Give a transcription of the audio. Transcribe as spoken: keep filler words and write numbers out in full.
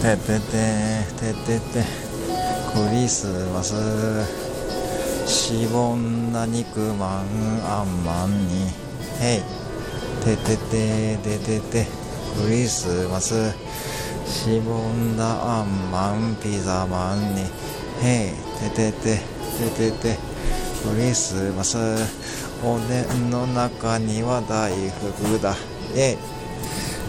ててててててクリスマスしぼんだ肉まんあんまんにヘイててててててクリスマスしぼんだあんまんピザマンにヘイててててててクリスマスおでんの中には大福だイェイ